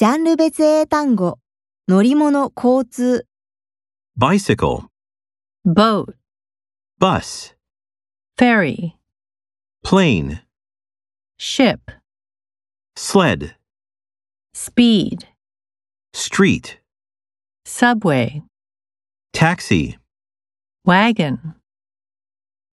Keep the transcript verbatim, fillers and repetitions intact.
ジャンル別英単語、乗り物、交通。 bicycle, boat, bus, ferry, plane, ship, sled, speed, street, subway, taxi, wagon.